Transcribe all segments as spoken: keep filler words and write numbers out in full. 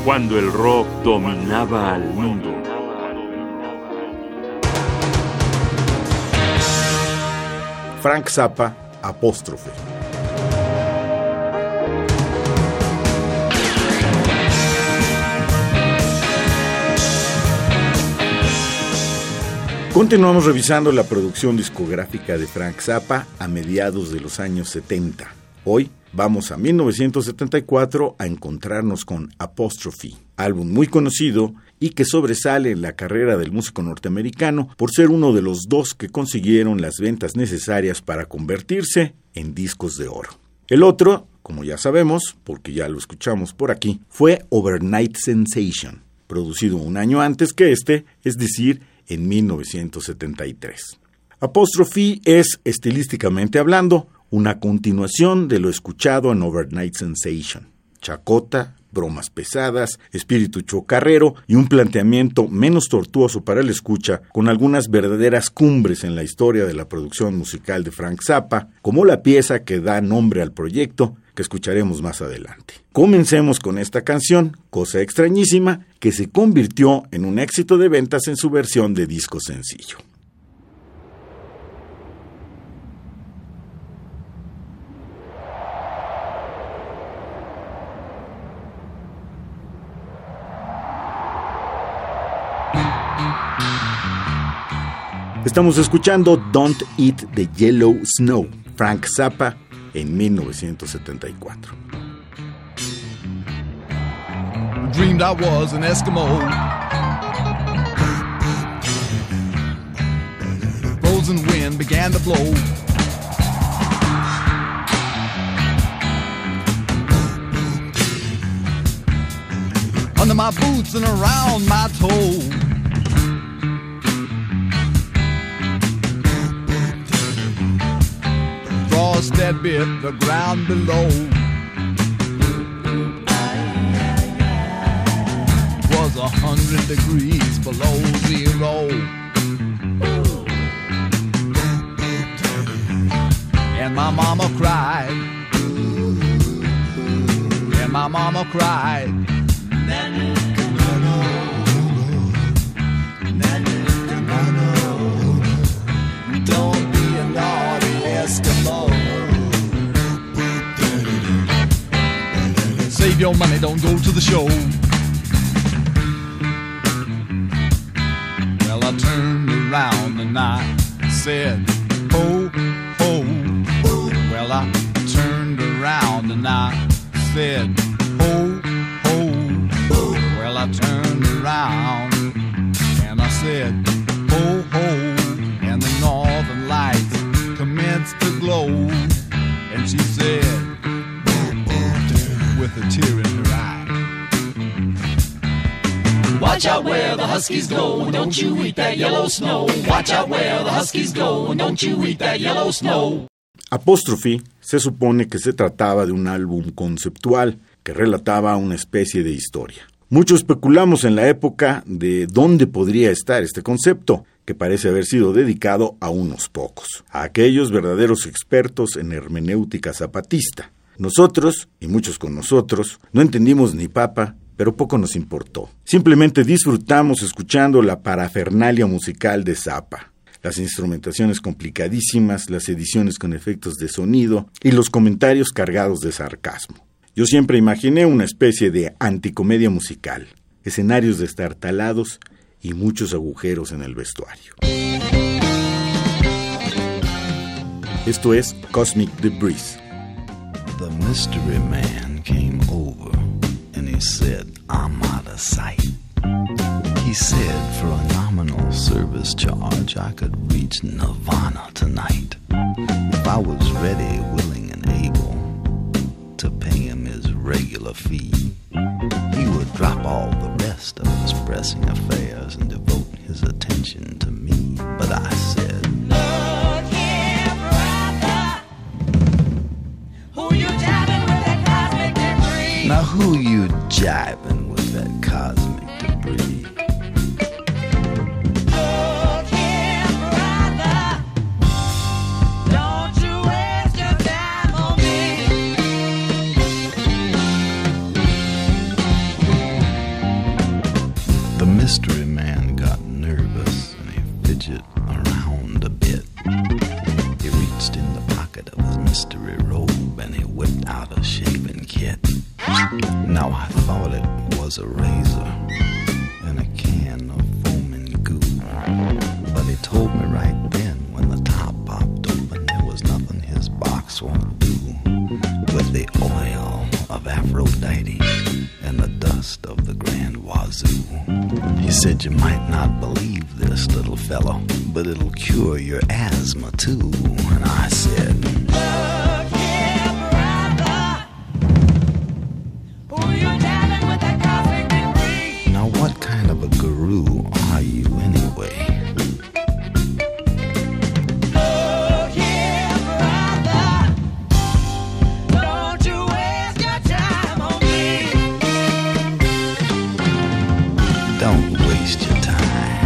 cuando el rock dominaba al mundo. Frank Zappa, Apóstrofe. Continuamos revisando la producción discográfica de Frank Zappa a mediados de los años setenta. Hoy vamos a mil novecientos setenta y cuatro a encontrarnos con Apostrophe, álbum muy conocido y que sobresale en la carrera del músico norteamericano por ser uno de los dos que consiguieron las ventas necesarias para convertirse en discos de oro. El otro, como ya sabemos, porque ya lo escuchamos por aquí, fue Overnight Sensation, producido un año antes que este, es decir, en mil novecientos setenta y tres. Apostrophe es, estilísticamente hablando, una continuación de lo escuchado en Overnight Sensation. Chacota, bromas pesadas, espíritu chocarrero y un planteamiento menos tortuoso para el escucha, con algunas verdaderas cumbres en la historia de la producción musical de Frank Zappa, como la pieza que da nombre al proyecto, que escucharemos más adelante. Comencemos con esta canción, Cosa Extrañísima, que se convirtió en un éxito de ventas en su versión de disco sencillo. Estamos escuchando Don't Eat the Yellow Snow, Frank Zappa, en mil novecientos setenta y cuatro. Dreamed I was an Eskimo. Frozen wind began to blow. Under my boots and around my toes. Frost that bit the ground below. Was a hundred degrees below zero. And my mama cried. And my mama cried. Don't be a naughty Eskimo. Save your money, don't go to the show. Well, I turned around and I said, ho, ho. Well, I turned around and I said, ho, ho. Well, I turned around and I said, ho, ho. And the northern lights commenced to glow. And she said, with a tear in her eye, watch out where the Huskies go, and don't you eat that yellow snow. Watch out where the Huskies go, and don't you eat that yellow snow. Apostrophe se supone que se trataba de un álbum conceptual que relataba una especie de historia. Muchos especulamos en la época de dónde podría estar este concepto, que parece haber sido dedicado a unos pocos, a aquellos verdaderos expertos en hermenéutica zapatista. Nosotros, y muchos con nosotros, no entendimos ni papa, pero poco nos importó. Simplemente disfrutamos escuchando la parafernalia musical de Zappa, las instrumentaciones complicadísimas, las ediciones con efectos de sonido y los comentarios cargados de sarcasmo. Yo siempre imaginé una especie de anticomedia musical, escenarios destartalados y muchos agujeros en el vestuario. Esto es Cosmic Debris. The mystery man came over and he said, I'm out of sight. He said for a nominal service charge I could reach Nirvana tonight. If I was ready, willing and able to pay him his regular fee, he would drop all the rest of his pressing affairs and devote his attention to me. But I said, look here, brother, who you jiving with that cosmic debris? now who you jiving with that cosmic debris? Look here, brother, don't you waste your time on me. mystery robe and he whipped out a shaving kit. Now I thought it was a razor and a can of foaming goo, but he told me right then when the top popped open there was nothing his box won't do. With the oil of Aphrodite and the dust of the Grand Wazoo. He said you might not believe this, little fellow, but it'll cure your asthma too. And I said, Look here, brother. Who you dabbing with that cosmic degree? now what kind of a guru are you anyway? Look here, brother. Don't you waste your time on me. Don't waste your time.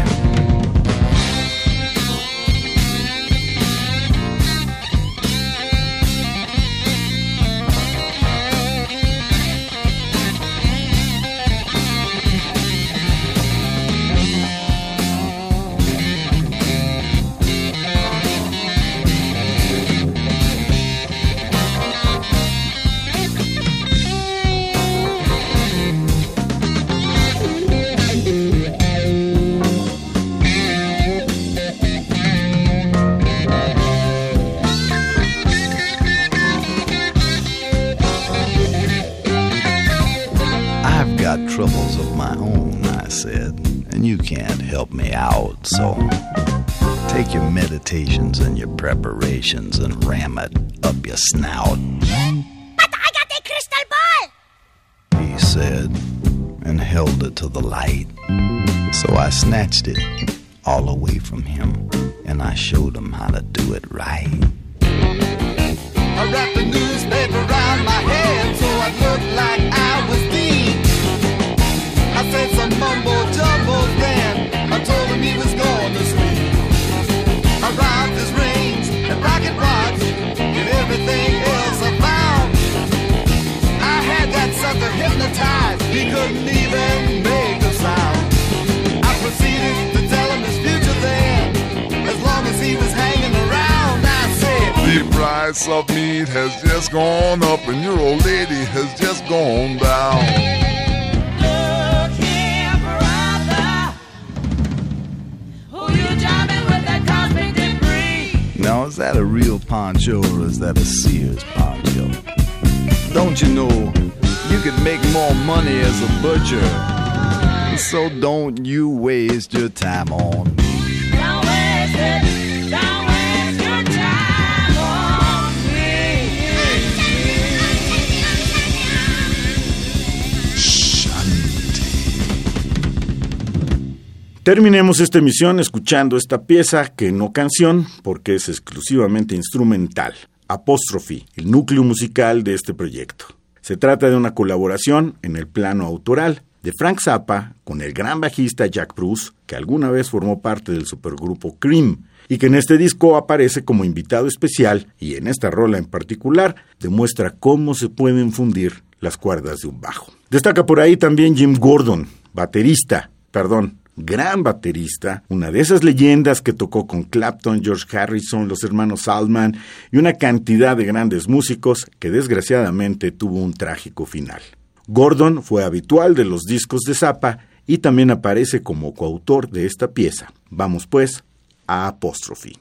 I've got troubles of my own, I said, and you can't help me out, so take your meditations and your preparations and ram it up your snout, But I got the crystal ball. he said, and held it to the light. So I snatched it all away from him, and I showed him how to do it right. I wrapped the newspaper around my head so I looked like I was deep. I said some mumbo jumbo then. I told him he was going to sleep. I robbed his rings and rocket watch and everything else I found. I had that sucker hypnotized. He couldn't even make a sound. I proceeded to tell him his future then. As long as he was hanging around, I said, The price of meat has just gone up and your old lady has just gone down. Look here, brother. Who you jamming with that cosmic debris? Now, is that a real poncho or is that a Sears poncho? Don't you know you could make more money as a butcher? So don't you waste your time on me. Don't waste it. Don't waste your time on me. Terminemos esta emisión escuchando esta pieza que no canción porque es exclusivamente instrumental, Apostrophe, el núcleo musical de este proyecto. Se trata de una colaboración en el plano autoral de Frank Zappa con el gran bajista Jack Bruce, que alguna vez formó parte del supergrupo Cream, y que en este disco aparece como invitado especial y en esta rola en particular demuestra cómo se pueden fundir las cuerdas de un bajo. Destaca por ahí también Jim Gordon, baterista, perdón, gran baterista, una de esas leyendas que tocó con Clapton, George Harrison, los hermanos Altman y una cantidad de grandes músicos que desgraciadamente tuvo un trágico final. Gordon fue habitual de los discos de Zappa y también aparece como coautor de esta pieza. Vamos pues a Apostrophe.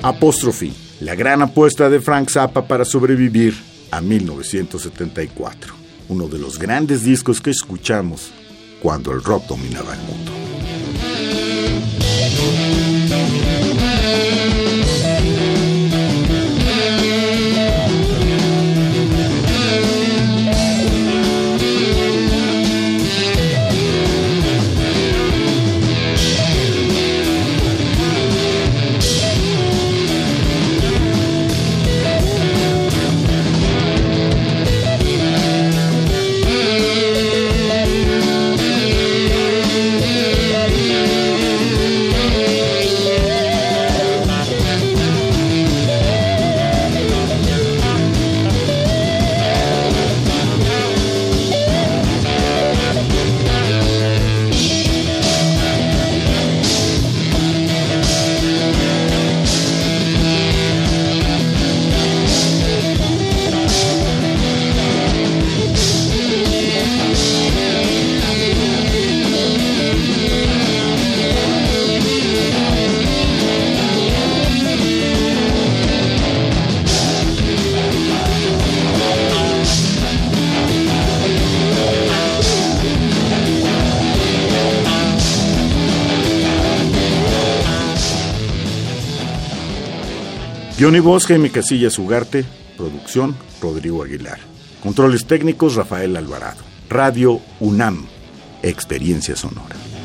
Apostrophe, la gran apuesta de Frank Zappa para sobrevivir a mil novecientos setenta y cuatro, uno de los grandes discos que escuchamos cuando el rock dominaba el mundo. Guión y voz, Jaime Casillas Ugarte. Producción, Rodrigo Aguilar. Controles técnicos, Rafael Alvarado. Radio UNAM. Experiencia sonora.